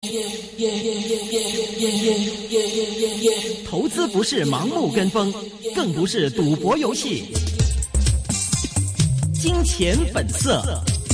投资不是盲目跟风，更不是赌博游戏。金钱本色。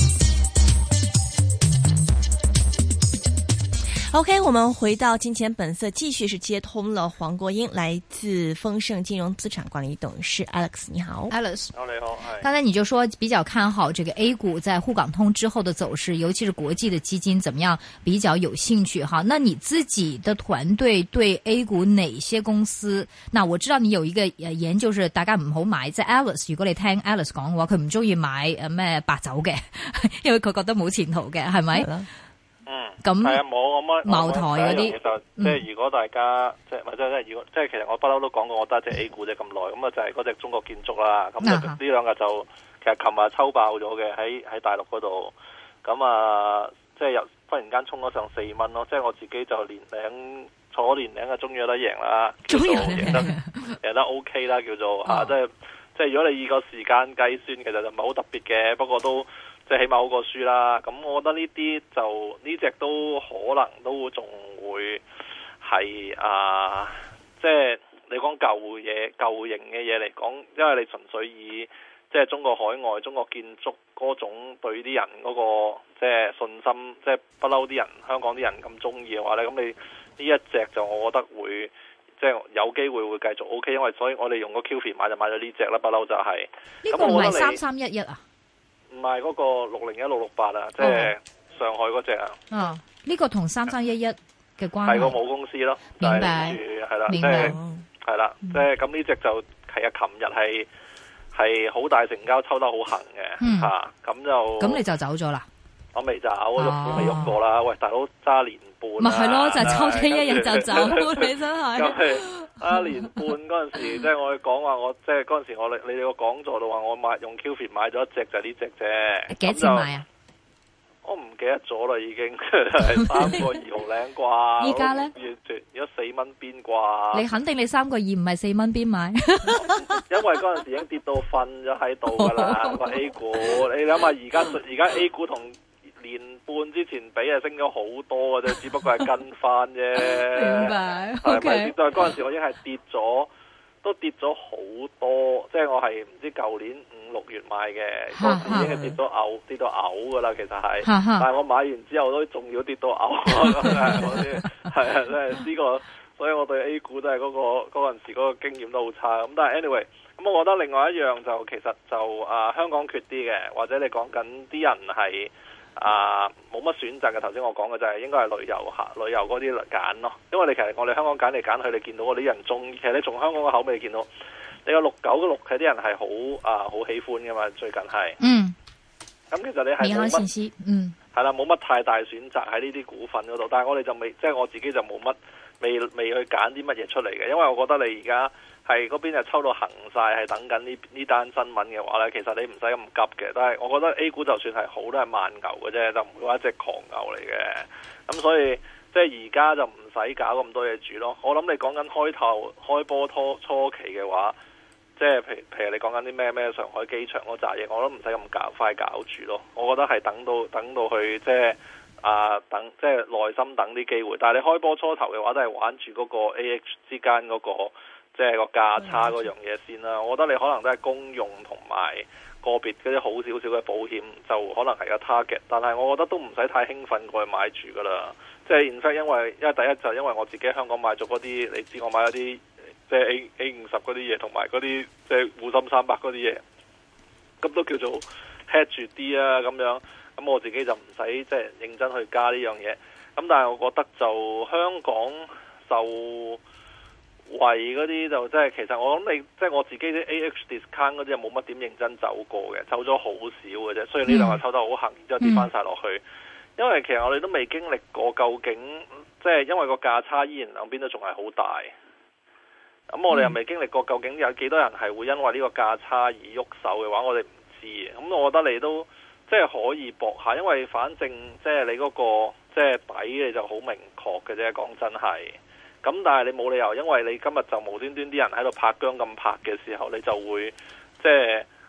OK， 我们回到金钱本色，继续是接通了黄国英，来自丰盛金融资产管理董事 Alex， 你好 ，Alex， 你好， 刚才你就说比较看好这个 A 股在沪港通之后的走勢，尤其是國際的基金怎麼樣比較有興趣哈？那你自己的團隊對 A 股哪些公司？嗱，我知道你有一個研究是大家唔好買，即係 Alice， 如果你聽 Alice 講嘅話，佢唔中意買咩白酒嘅，因為佢覺得冇前途嘅，係咪？咁係啊，冇咁茅台嗰啲， 即係如果大家即係或者即係其實我不嬲都講過，我得隻 A 股啫咁耐，咁啊就係嗰隻中國建築啦。咁呢兩日就其實琴日抽爆咗嘅喺大陸嗰度，咁啊即係又忽然間衝咗上4蚊咯。即係我自己就坐年齡終於有得贏啦，叫做贏得 OK 啦，叫做嚇。即係如果你以個時間計算，其實就唔係好特別嘅，不過都。即係起碼好過輸啦，咁我覺得呢啲就呢隻都可能都仲會係即係你講舊型嘅嘢嚟講，因為你純粹以即係中國海外、中國建築嗰種對啲人嗰個即係信心，即係不嬲啲人香港啲人咁中意嘅話咧，咁你呢一隻就我覺得會即係有機會會繼續 OK， 因為所以我哋用個 QF 買就買咗呢隻啦，不嬲就係。 呢個唔係3311啊？ 唔係嗰個601668啊，即係上海嗰隻啊。 呢個同3311嘅關係係個母公司咯。 明白。 係啦，即係係啦，即係咁呢隻就係啊，琴日係好大成交，抽得好行嘅嚇，咁就。咁你就走咗啦？ 我未走，喐都未喐過啦。喂，大佬揸年半。 咪係咯，就抽咗一日就走，你真係。 年半嗰陣時，即係我講話，我即係嗰陣時你哋個講座度話，我用 QF 買咗一隻就係呢隻啫。幾錢買啊？我唔記得咗啦，已經係3個2毫零啩。 依家咧？ 如果4蚊邊啩？ 你肯定你3個2唔係4蚊邊買？ 因為嗰陣時已經跌到瞓咗喺度噶啦，個 A 股。你諗下，而家 A 股同年半之前比係升咗好多嘅啫，只不過係跟翻啫。 明白。 係咪跌到嗰陣時我已經係跌咗，都跌咗好多。即係我係唔知舊年5、6月買嘅，嗰陣時已經係跌到嘔噶啦。其實係，但係我買完之後都仲要跌到嘔。係啊，即係呢個，所以我對 A 股都係嗰陣時嗰個經驗都好差。咁但係 anyway，咁我覺得另外一樣就其實就香港缺啲嘅，或者你講緊啲人係。冇乜選擇嘅，頭先我講嘅就係應該係旅遊嗰啲嚟揀咯，因為你其實我哋香港揀嚟揀去，你見到嗰啲人中，其實你從香港嘅口味見到，你個6996嘅啲人係好喜歡噶嘛，最近係。咁其實你係冇乜，係啦，冇乜太大選擇喺呢啲股份嗰度，但係我哋就未，即係我自己就冇乜未去揀啲乜嘢出嚟嘅，因為我覺得你而家。係嗰邊就抽到行晒，係等緊呢單新聞嘅話咧，其實你唔使咁急嘅。但係我覺得 A 股就算係好都係慢牛嘅啫，就唔會話一隻狂牛嚟嘅。咁所以即係而家就唔使搞咁多嘢住咯。我諗你講緊開波初期嘅話，即係譬如你講緊啲咩上海機場嗰扎嘢，我都唔使咁快搞住咯。我覺得係等到去即係等即係耐心等啲機會。但係你開波初頭嘅話，都係玩住嗰個 AH 之間嗰個。即係個價差嗰樣嘢先啦，我覺得你可能都係公用同埋個別嗰啲好少少嘅保險，就可能係個 target。但係我覺得都唔使太興奮過去買住噶啦。即係 in fact，因為第一就因為我自己喺香港買咗嗰啲，你知我買咗啲即係 A50嗰啲嘢，同埋嗰啲即係滬深300嗰啲嘢，咁都叫做 hedge 住啲啊咁樣。咁我自己就唔使即係認真去加呢樣嘢。咁但係我覺得就香港就。為嗰啲就即係其實我諗你即係我自己啲 AH discount 嗰啲冇乜點認真走過嘅，走咗好少嘅啫。所以呢兩日抽得好行，然之後跌翻晒落去。因為其實我哋都未經歷過究竟即係因為個價差依然兩邊都仲係好大。咁我哋又未經歷過究竟有幾多人係會因為呢個價差而喐手嘅話，我哋唔知嘅。咁我覺得你都即係可以搏下，因為反正即係你嗰個即係底你就好明確嘅啫。講真係。咁但係你冇理由，因為你今日就無端端啲人喺度拍姜咁拍嘅時候，你就會即係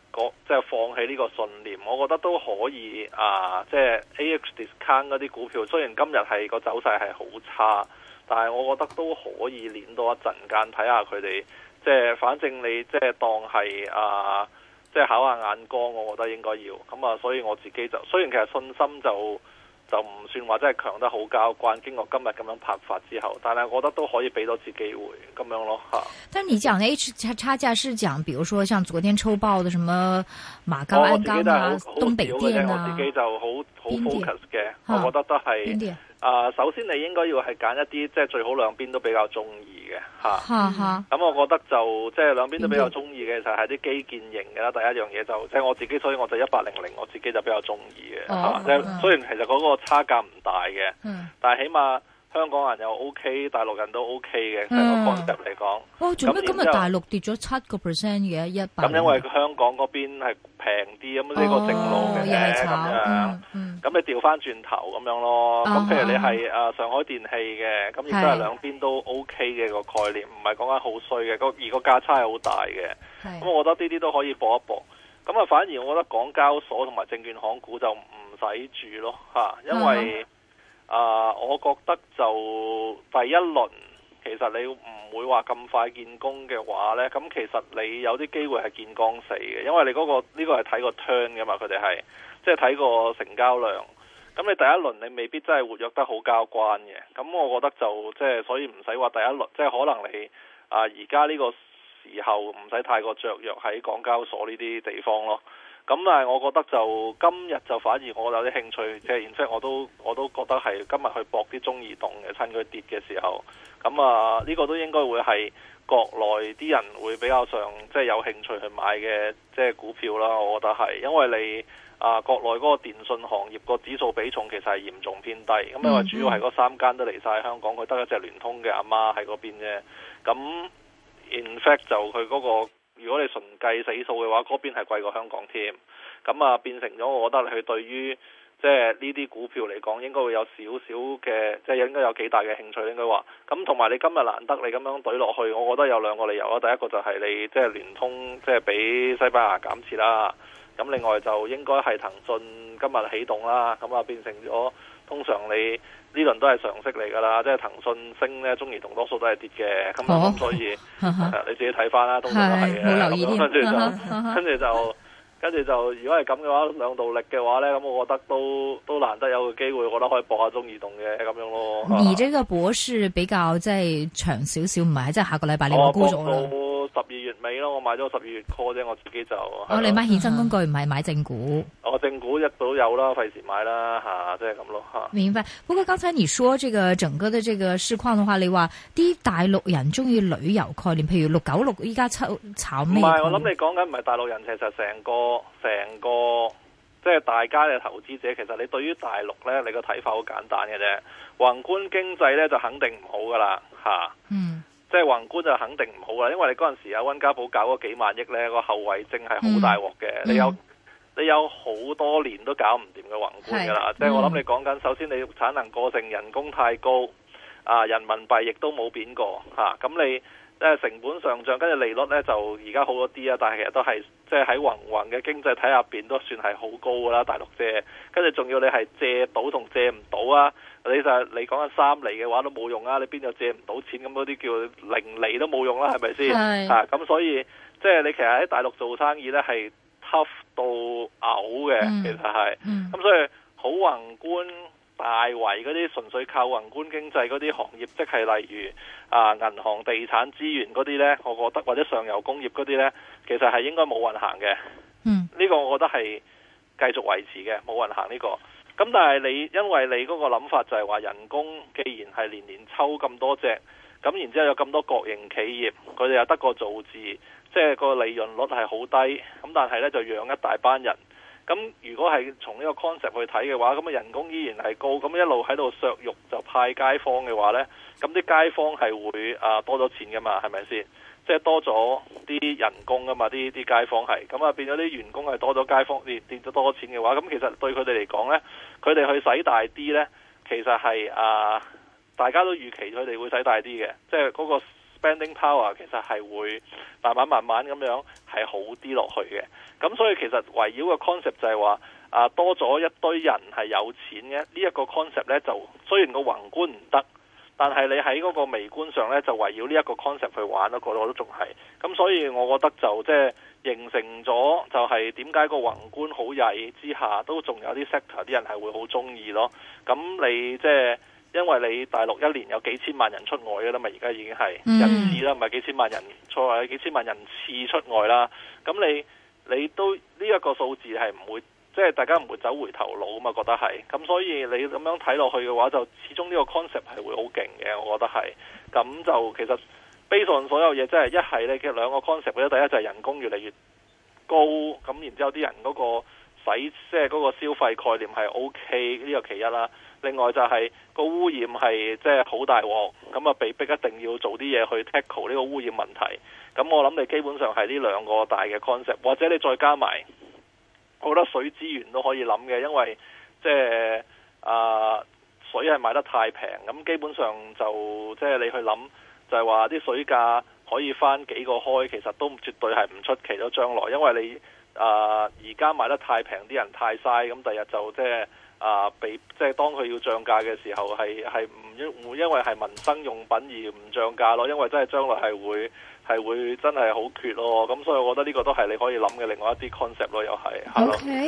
即係放棄呢個信念，我覺得都可以即係 AH discount 嗰啲股票，雖然今日係個走勢係好差，但係我覺得都可以練多一陣間睇下佢哋，即係反正你即係當係即係考下眼光，我覺得應該要咁啊。所以我自己就雖然其實信心就唔算話真係強得好交關，經過今日咁樣拍法之後，但係我覺得都可以俾多次機會咁樣咯嚇。 但係你講的 H 差價是講，比如說像昨天抽爆的什麼馬鋼、鞍鋼啊、東北電啊， 我自己就好 focus 嘅，我覺得都係首先你應該要係揀一啲即係最好兩邊都比較中意嘅嚇。咁我覺得就即係兩邊都比較中意嘅就係啲基建型嘅啦。第一樣嘢就即係我自己，所以我就1800我自己就比較中意嘅。即係雖然其實嗰個差價唔大嘅，但係起碼香港人又 OK， 大陸人都 OK 嘅成個 concept 嚟講。 哦，做咩今日大陸跌咗7%嘅100？ 咁因為香港嗰邊係平啲，咁呢個正路嘅咁樣。咁你調翻轉頭咁樣咯。咁譬如你係上海電氣嘅，咁亦都係兩邊都 OK 嘅個概念，唔係講緊好衰嘅。而個價差係好大嘅。咁我覺得呢啲都可以搏一搏。咁反而我覺得港交所同埋證券行股就唔使住咯嚇，因為我覺得就第一輪其實你唔會話咁快見功嘅話呢，咁其實你有啲機會係見光死嘅，因為你呢個係睇個 turn 嘅嘛，佢哋係即係睇個成交量。咁你第一輪你未必真係活躍得好交關嘅，咁我覺得就即係所以唔使話第一輪，即係可能你而家呢個時候唔使太過雀躍喺港交所呢啲地方咯。咁但係我覺得就今日就反而我有啲興趣，即係然之後我都覺得係今日去搏啲中移動嘅，趁佢跌嘅時候。咁呢個都應該會係國內啲人會比較上即係有興趣去買嘅即係股票啦。我覺得係，因為你國內嗰個電信行業個指數比重其實係嚴重偏低。咁因為主要係嗰3間都嚟晒香港，佢得一隻聯通嘅阿媽喺嗰邊啫。咁 in fact 就佢嗰個。如果你純計死數嘅話，嗰邊係貴過香港添，咁變成咗，我覺得佢對於即係呢啲股票嚟講，應該會有少少嘅，即係應該有幾大嘅興趣應該話。咁同埋你今日難得你咁樣懟落去，我覺得有兩個理由啊。第一個就係你即係聯通，即係俾西班牙減持啦。咁另外就應該係騰訊今日起動啦，咁變成咗通常你。呢輪都係常識嚟㗎啦，即係騰訊升咧，中移動多數都係跌嘅，咁所以你自己睇翻啦，通常都係嘅。冇留意跟住就，如果係咁嘅話，兩道力嘅話咧，咁我覺得都難得有個機會，我覺得可以搏下中移動嘅咁樣咯。 而這個博士比較即係長少少，唔係即係下個禮拜你會沽咗啦。 12月尾咯，我買咗12月 call 啫，我自己就。 你買衍生工具唔係買正股？ 正股一早有啦，費事買啦即係咁咯明白。不過剛才你說這個整個的這個市況的話，你話啲大陸人中意旅遊概念，譬如696依家炒咩？唔係， 我諗你講緊唔係大陸人，其實成個即係大家嘅投資者，其實你對於大陸呢，你個睇法好簡單嘅啫。宏觀經濟呢，就肯定唔好噶啦即係宏觀就肯定唔好啦，因為你嗰陣時溫家寶搞嗰幾萬億呢，個後遺症係好大鑊嘅。你有好多年都搞唔掂嘅宏觀噶啦，即係我諗你講緊，首先你產能過剩，人工太高，人民幣亦都冇貶過咁你成本上漲，跟住利率呢就而家好咗啲啊，但係其實都係即係喺宏嘅經濟體入邊都算係好高噶啦，大陸借，跟住仲要你係借到同借唔到啊！你講緊3厘嘅話都冇用啊！你邊度借唔到錢，咁嗰啲叫0厘都冇用啦，係咪先？咁所以即係你其實喺大陸做生意呢係 tough 到嘔嘅，其實係。咁所以好宏觀大圍嗰啲純粹靠宏觀經濟嗰啲行業，即係例如銀行、地產、資源嗰啲呢，我覺得或者上游工業嗰啲呢，其實係應該冇運行嘅。呢個我覺得係繼續維持嘅，冇運行呢個。咁但係因為你嗰個諗法就係話人工既然係年年抽咁多隻，咁然之後有咁多國營企業，佢哋又得個造字，即係個利潤率係好低，咁但係呢就養一大班人。咁如果係從呢個 concept 去睇嘅話，咁人工依然係高，咁一路喺度削肉就派街坊嘅話呢，咁啲街坊係會多咗錢噶嘛，係咪先？即係多咗啲人工噶嘛，啲街坊係咁變咗啲員工係多咗，街坊跌咗多錢嘅話，咁其實對佢哋嚟講呢，佢哋去使大啲呢，其實係大家都預期佢哋會使大啲嘅，即係嗰個 spending power 其實係會慢慢咁樣係好啲落去嘅。咁所以其實圍繞個 concept 就係話多咗一堆人係有錢嘅，呢一個 concept 呢，就雖然個宏觀唔得，但係你喺嗰個微觀上呢，就圍繞呢一個 concept 去玩咯，我都仲係。咁所以我覺得就即係形成咗就係點解個宏觀好曳之下都仲有啲 sector 啲人係會好中意咯。咁你即係因為你大陸一年有幾千萬人出外嘅啦嘛，而家已經係人次啦，唔係幾千萬人出外，幾千萬人次出外啦。咁你都呢一個數字係唔會即係大家唔會走回頭路啊嘛，覺得係。咁所以你咁樣睇落去嘅話，就始終呢個 concept 係會好勁嘅，我覺得係。咁就其實based on所有嘢，即係一係呢嘅兩個 concept 咧，第一就係人工越嚟越高，咁然之後啲人嗰個即係嗰個消費概念係 OK， 呢個其一啦。另外就係個污染係即係好大鑊，咁被逼一定要做啲嘢去 tackle 呢個污染問題。咁我諗你基本上係呢兩個大嘅 concept， 或者你再加埋，我覺得水資源都可以諗嘅，因為即係水係賣得太平，咁基本上就即係你去諗就係話啲水價可以翻幾個開，其實都絕對係唔出奇咯。將來因為你而家賣得太平，啲人太嘥，咁第日就即係即係當佢要漲價嘅時候，係唔會因為係民生用品而唔漲價咯，因為真係將來係會真係好缺咯。咁所以我覺得呢個都係你可以諗嘅另外一啲 concept 咯，又係。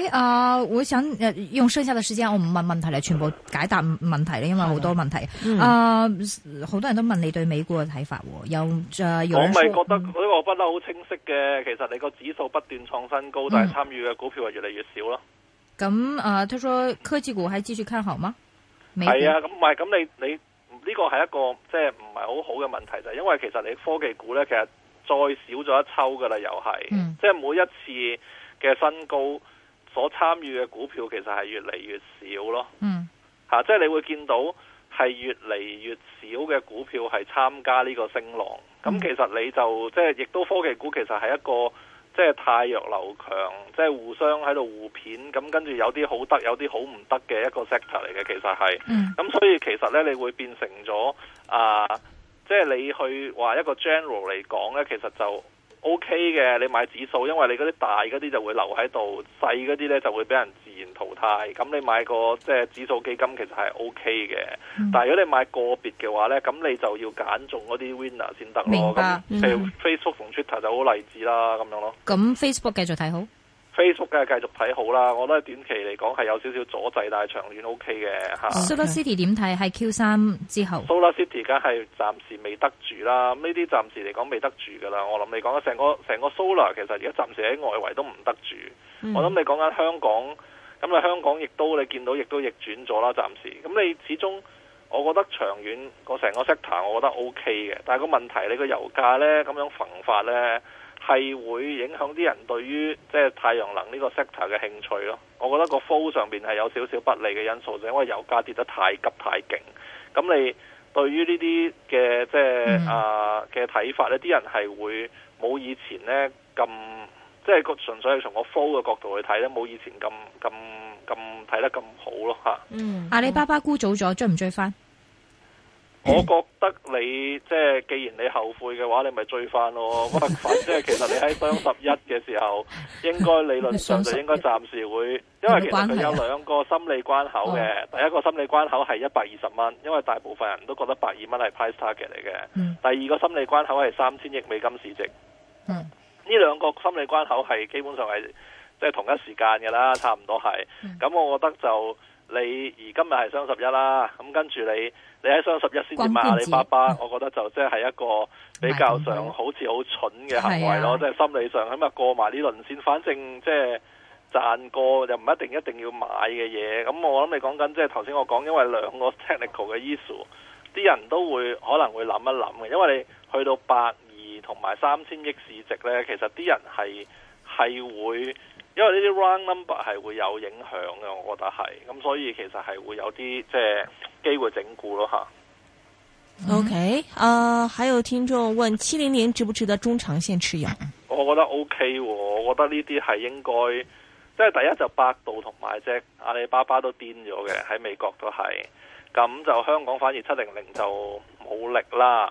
OK， 我想用剩下嘅時間，我唔問問題嚟，全部解答問題咧，因為好多問題。好多人都問你對美股嘅睇法，我咪覺得呢個不嬲好清晰嘅。其實你個指數不斷創新高，但係參與嘅股票係越嚟越少咯。咁他說科技股還繼續看好嗎？ 係啊，咁唔係咁你呢個係一個即係唔係好好嘅問題，就係因為其實你科技股呢，其實再少咗一抽噶啦，又係，即係每一次嘅新高所參與嘅股票其實係越嚟越少咯。即係你會見到係越嚟越少嘅股票係參加呢個升浪。咁其實你就即係亦都科技股其實係一個。即係太弱流強，即係互相喺度互片，咁跟住有啲好得，有啲好唔得嘅一個 sector 嚟嘅，其實係。咁所以其實呢，你會變成咗即係你去話一個 general 嚟講呢，其實就 OK 嘅。你買指數，因為你嗰啲大嗰啲就會留喺度，細嗰啲呢就會俾人自然淘汰。咁你買個即係指數基金其實係 OK 嘅。但係如果你買個別嘅話呢，咁你就要揀中嗰啲 winner 先得咯。 明白。 咁譬如 Facebook 同 Twitter 就好例子啦，咁樣咯。 咁 Facebook 繼續睇好？ Facebook 梗係繼續睇好啦，我覺得短期嚟講係有少少阻滯，但係長遠 OK 嘅嚇。 SolarCity 點睇？係 Q3 之後 SolarCity 梗係暫時未得住啦，呢啲暫時嚟講未得住噶啦。我諗你講緊成個 Solar 其實而家暫時喺外圍都唔得住。我諗你講緊香港，咁啊香港亦都你見到亦都逆轉咗啦，暫時。咁你始終我覺得長遠個成個 sector 我覺得 OK 嘅，但係個問題你個油價呢咁樣焚發呢，係會影響啲人對於即係太陽能呢個 sector 嘅興趣咯。我覺得個 flow 上邊係有少少不利嘅因素，就因為油價跌得太急太勁。咁你對於呢啲嘅即係嘅睇法呢，啲人係會冇以前呢咁即係個純粹係從個 flow 嘅角度去睇呢，冇以前咁睇得咁好咯嚇。 阿里巴巴沽早咗，追唔追翻？ 我覺得你即係既然你後悔嘅話，你咪追翻咯。不過即係其實你喺雙十一嘅時候，應該理論上就應該暫時會，因為其實佢有兩個心理關口嘅。第一個心理關口係120蚊，因為大部分人都覺得120蚊係 price target 嚟嘅。第二個心理關口係3000億美金市值。呢兩個心理關口係基本上係即係同一時間嘅啦，差唔多係。咁我覺得就你而今日係雙十一啦，咁跟住你喺雙十一先至買阿里巴巴，我覺得就即係一個比較上好似好蠢嘅行為咯，即係心理上咁啊過埋呢輪先，反正即係賺過又唔一定要買嘅嘢。咁我諗你講緊即係頭先我講，因為兩個 technical 嘅 issue， 啲人都會可能會諗一諗嘅，因為你去到120同埋3000億市值呢，其實啲人係會。因為呢啲 round number 係會有影響嘅，我覺得係，咁所以其實係會有啲即係機會整固咯吓。 OK，還有聽眾問700值不值得中長線持有？ 我覺得 OK，我覺得呢啲係應該，即係第一就百度同埋隻阿里巴巴都癲咗嘅，喺美國都係，咁就香港反而700就冇力啦。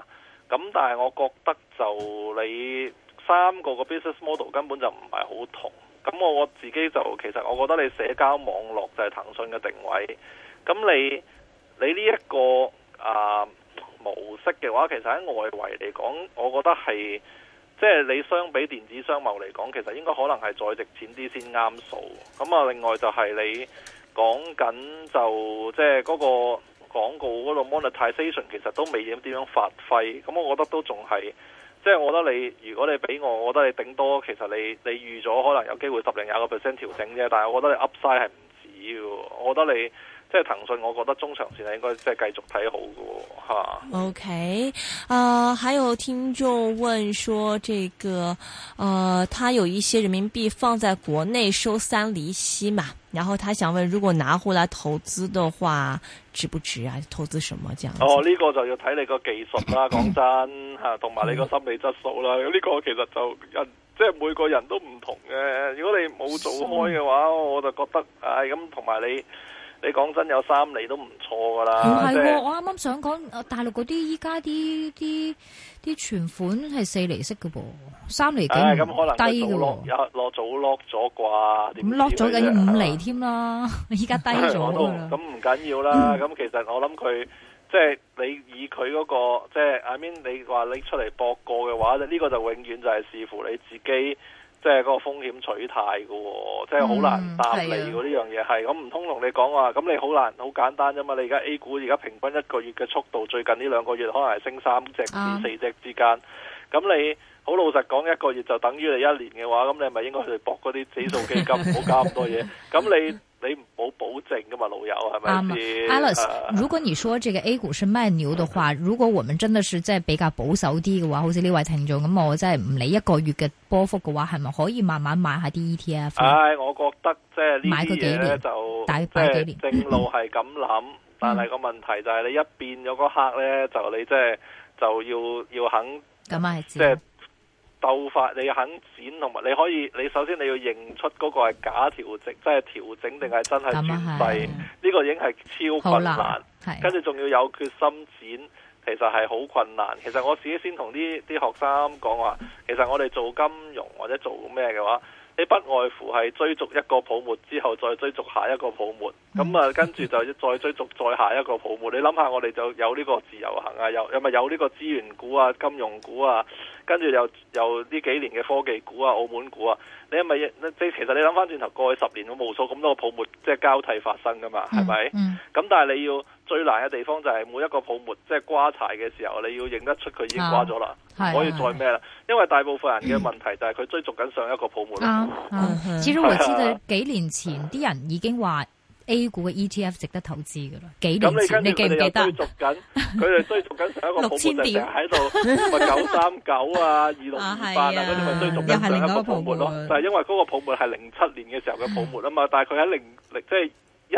咁但係我覺得就你三個 business model 根本就唔係好同。咁我自己就其實我覺得你社交網絡就係騰訊嘅定位。咁你呢一個模式嘅話，其實喺外圍嚟講，我覺得係即係你相比電子商貿嚟講，其實應該可能係再值錢啲先啱數。咁啊，另外就係你講緊就即係嗰個廣告嗰度 monetization 其實都未點樣發揮。咁我覺得都仲係即係我覺得你如果你俾我覺得你頂多其實你預咗可能有機會10-20% 調整啫。但係我覺得你 upside 係唔止嘅。我覺得你即係騰訊，我覺得中長線係應該即係繼續睇好嘅吓。 OK，還有聽眾問說，這個他有一些人民幣放在國內收3厘息嘛，然後他想問，如果拿回來投資的話，值不值啊？投資什麼這樣子？ 呢個就要睇你個技術啦，講真吓，同埋你個心理質素啦。呢個其實就即係每個人都唔同嘅。如果你冇做開嘅話，我就覺得咁，同埋你講真有3厘都唔錯噶啦。 唔係喎，我啱啱想講大陸嗰啲依家啲存款係4厘息嘅噃，3厘幾唔低嘅喎。 早 lock 咗啩？ 咁 lock 咗緊要5厘添啦，依家低咗㗎啦。 咁唔緊要啦。咁其實我諗佢即係你以佢嗰個即係 I mean 你話拎出嚟博過嘅話，呢個就永遠就係視乎你自己。即係嗰個風險取態嘅喎，即係好難答你喎。呢樣嘢係咁，唔通同你講話咁你好難好簡單啫嘛。你而家 A 股而家平均一個月嘅速度，最近呢2個月可能係升3隻至4隻之間。咁你好老實講，一個月就等於你1年嘅話，咁你係咪應該去搏嗰啲指數基金，唔好加咁多嘢？咁你冇保證噶嘛，老友係咪先 ？Alice，如果你說這個 A 股是慢牛的話，如果我們真的是即係比較保守啲嘅話，好似呢位聽眾咁，我真係唔理1個月嘅波幅嘅話，係咪可以慢慢買下啲 ETF？ 我覺得即係呢啲嘢咧就大概幾年正路係咁諗，但係個問題就係你一變咗嗰刻咧，就你即係就要肯咁啊， 即係。鬥法你肯剪，同埋你首先你要認出嗰個係假調整，即係調整定係真係轉勢，呢個已經係超困難。跟住仲要有決心剪，其實係好困難。其實我自己先同啲學生講話，其實我哋做金融或者做咩嘅話，你不外乎係追逐一個泡沫之後再追逐下一個泡沫，咁跟住就再追逐再下一個泡沫。你諗下，我哋就有呢個自由行啊，有呢個資源股啊、金融股啊，跟住又呢幾年嘅科技股啊、澳門股啊，你係咪其實你諗翻轉頭過去10年，無數咁多個泡沫即係交替發生噶嘛，係咪？咁但係你要最難嘅地方就係每一個泡沫即係瓜柴嘅時候，你要認得出佢已經瓜咗啦，唔可以再咩啦。因為大部分人嘅問題就係佢追逐緊上一個泡沫。 其實我知道幾年前啲人已經話 A 股嘅 ETF 值得投資噶啦。幾年前你記唔記得？ 佢哋追逐緊上一個泡沫就成日喺度咪939啊、2628啊嗰啲咪追逐緊上一個泡沫咯。就係因為嗰個泡沫係07年嘅時候嘅泡沫啊嘛，但係佢喺即係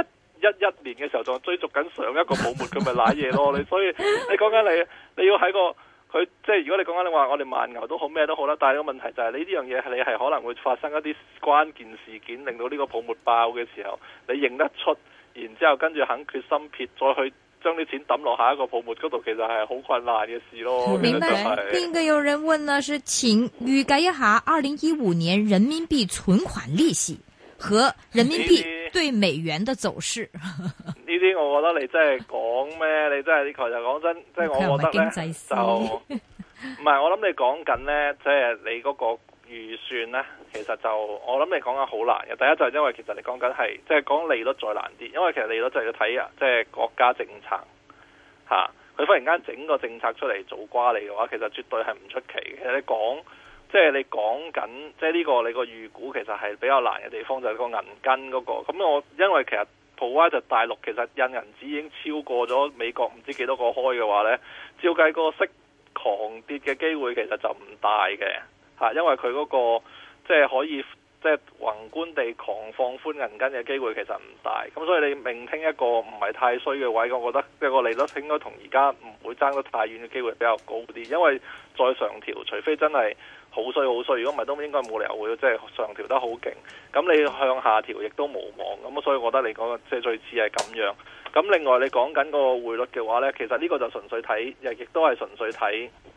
11年嘅時候仲追逐緊上一個泡沫，佢咪瀨嘢咯。所以你講緊你要喺個。佢即係如果你講緊你話我哋慢牛都好咩都好啦，但係個問題就係你呢樣嘢你係可能會發生一啲關鍵事件，令到呢個泡沫爆嘅時候，你認得出，然之後跟住肯決心撇，再去將啲錢抌落下一個泡沫嗰度，其實係好困難嘅事咯。 明白。另一個有人問呢，是請預計一下2015年人民幣存款利息和人民幣對美元的走勢。 呢啲我覺得你真係講咩？你真係呢個就講真，即係我覺得咧就唔係。我諗你講緊咧，即係你嗰個預算咧，其實就我諗你講緊好難嘅。第一就係因為其實你講緊係即係講利率再難啲，因為其實利率就要睇啊，即係國家政策嚇。佢忽然間整個政策出嚟做瓜你嘅話，其實絕對係唔出奇嘅。其實你講緊即係呢個你個預估，其實係比較難嘅地方就係個銀根嗰個。咁我因為其實就大陸其實印銀紙已經超過咗美國唔知幾多個開嘅話呢，照計個息狂跌嘅機會其實就唔大嘅嚇，因為佢嗰個即係可以即係宏觀地狂放寬銀根嘅機會其實唔大。咁所以你命聽一個唔係太衰嘅位，我覺得即係個利率應該同而家唔會爭得太遠嘅機會比較高啲，因為再上調，除非真係好衰，如果唔係都應該冇理由會即係上調得好勁。咁你向下調亦都無望。咁所以我覺得你講嘅即係最似係咁樣。咁另外你講緊個匯率嘅話呢，其實呢個就純粹睇，亦都係純粹睇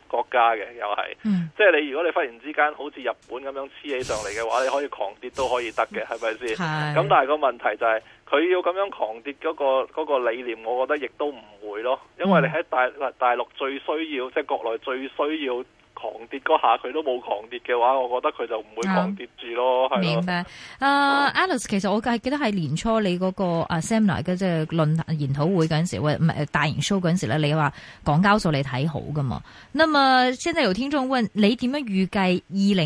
國家嘅，又係，即係你如果你忽然之間好似日本咁樣黐起上嚟嘅話，你可以狂跌都可以得嘅，係咪先？咁但係個問題就係佢要咁樣狂跌嗰個理念，我覺得亦都唔會咯，因為你喺大陸最需要，即係國內最需要狂跌嗰下，佢都冇狂跌嘅話，我覺得佢就唔會狂跌住咯。係明白。Alice， 其實我記得係年初你嗰個seminar 嘅即係論壇研討會嗰陣時，唔係大型 show 嗰陣時咧，你話港交所你睇好噶嘛？那麼現在有聽眾問你點樣預計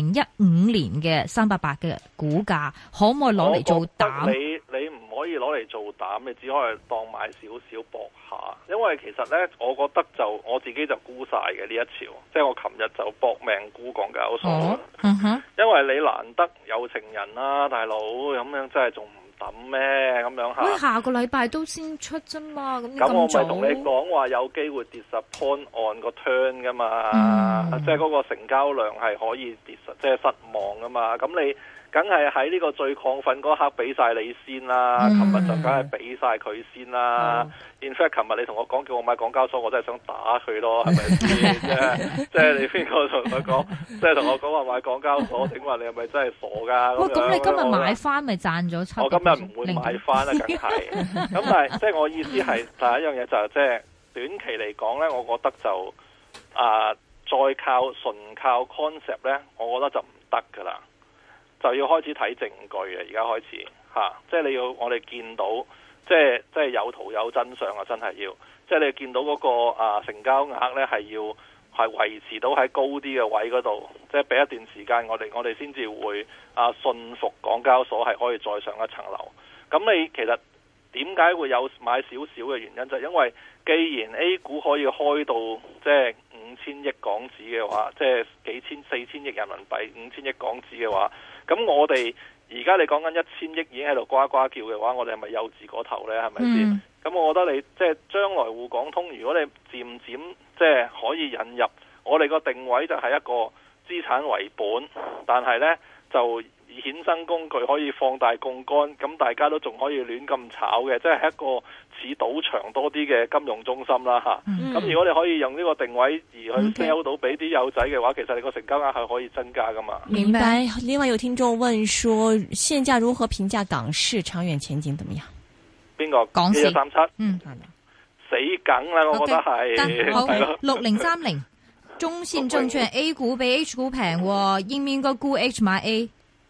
2015年嘅388嘅股價可唔可以攞嚟做膽？ 你唔可以攞嚟做膽，你只可以當買少少搏下。因為其實呢，我覺得就我自己就沽晒嘅呢一潮，即係我琴日就搏命沽港交所。因為你難得有情人啦，大佬咁樣真係仲唔抌咩？咁樣嚇。 下個禮拜都先出啫嘛， 咁我咪同你講話有機會跌disappoint on個 turn 噶嘛，即係嗰個成交量係可以跌即係失望噶嘛，咁你。梗係喺呢個最亢奮嗰刻俾晒你先啦，琴日就梗係俾晒佢先啦。In fact， 琴日你同我講叫我買港交所，我真係想打佢咯，係咪先？即係你邊個同佢講，即係同我講話買港交所，請問你係咪真係傻㗎？ 咁你今日買翻咪賺咗7%？ 我今日唔會買翻啦，梗係。咁但係即係我意思係第一樣嘢就係即係短期嚟講咧，我覺得就再純靠 concept 咧，我覺得就唔得㗎啦。就要開始睇證據啊！而家開始即係你要我哋見到，即係有圖有真相啊！真係要，即係你見到嗰個成交額呢係要係維持到喺高啲嘅位嗰度，即係俾一段時間我哋先至會信服港交所係可以再上一層樓。咁你其實點解會有買少少嘅原因，就係因為既然 A 股可以開到即係5000億港紙嘅話，即係4000億人民幣5000億港紙嘅話。咁我哋而家你講緊1000億已經喺度呱呱叫嘅話，我哋係咪幼稚過頭呢？係咪先？咁我覺得你即係將來滬港通，如果你漸漸即係可以引入，我哋個定位就係一個資產為本，但係呢就衍生工具可以放大槓桿，咁大家都仲可以亂咁炒嘅，即係一個似賭場多啲嘅金融中心啦嚇。咁如果你可以用呢個定位而去 sell 到俾啲友仔嘅話，其實你個成交額係可以增加噶嘛。 明白。另外有聽眾問說，現價如何評價港市長遠前景怎麼樣？ 邊個？港市137，死梗啦！我覺得係。 好，6030，中信證券 A 股比 H 股平，應唔應該沽 H 買 A？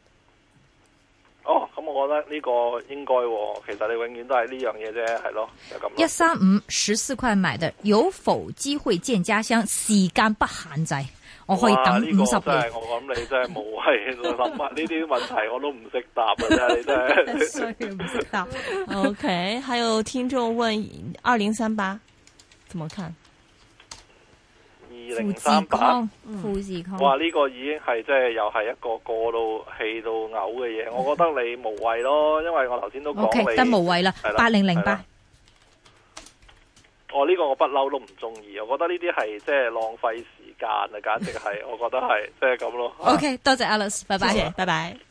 咁我覺得呢個應該，其實你永遠都係呢樣嘢啫，係咯，就咁。 135 14塊買的，有否機會見家鄉？時間不限制，我可以等50年。 我諗你真係無謂諗呢啲問題，我都唔識答啊！真係你真係唔識答。 OK， 還有聽眾問2038怎麼看 ？2038， 富士康， 哇！呢個已經係即係又係一個過到氣到嘔嘅嘢，我覺得你無謂咯，因為我頭先都講你得無謂啦。8008， 呢個我不嬲都唔中意，我覺得呢啲係即係浪費時間啊，簡直係，我覺得係即係咁咯。 OK， 多謝 Alice，拜拜， 拜拜。